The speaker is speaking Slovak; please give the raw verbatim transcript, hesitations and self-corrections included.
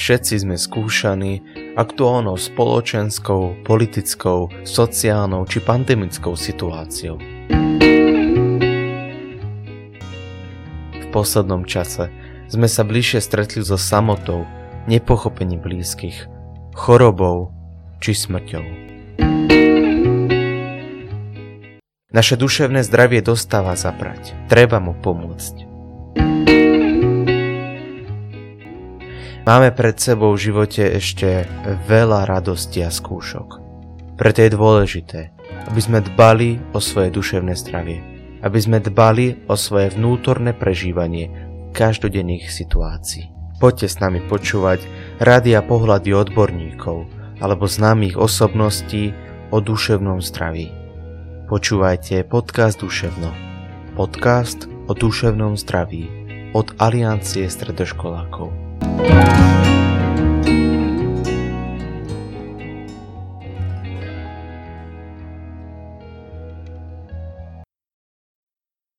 Všetci sme skúšaní aktuálnou spoločenskou, politickou, sociálnou či pandemickou situáciou. V poslednom čase sme sa bližšie stretli so samotou, nepochopením blízkych, chorobou či smrťou. Naše duševné zdravie dostáva zabrať, treba mu pomôcť. Máme pred sebou v živote ešte veľa radosti a skúšok. Preto je dôležité, aby sme dbali o svoje duševné zdravie, aby sme dbali o svoje vnútorné prežívanie každodenných situácií. Poďte s nami počúvať rady a pohľady odborníkov alebo známych osobností o duševnom zdraví. Počúvajte podcast Duševno. Podcast o duševnom zdraví od Aliancie stredoškolákov.